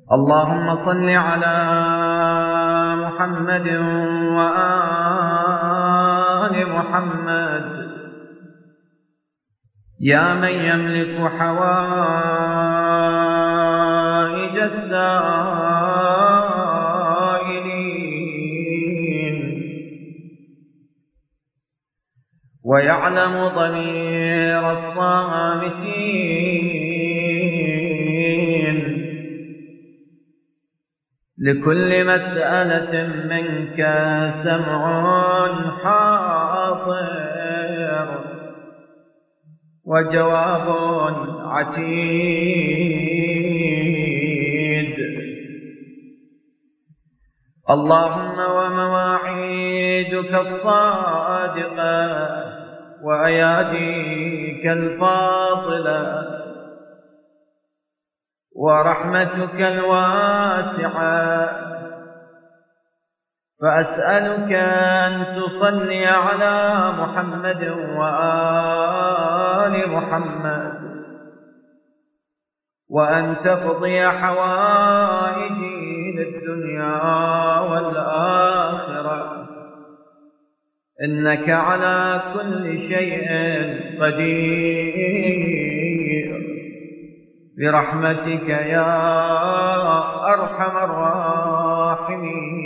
اللهم صل على محمد وآل محمد يا من يملك حوائج السائلين ويعلم ضمير الصامتين. لكل مسألة منك سمع حاضر وجواب عتيد. اللهم ومواعيدك الصادقة وأياديك الفاضلة ورحمتك الواسعة، فأسألك أن تصلي على محمد وآل محمد وأن تقضي حوائجي للدنيا والآخرة، إنك على كل شيء قدير برحمتك يا أرحم الراحمين.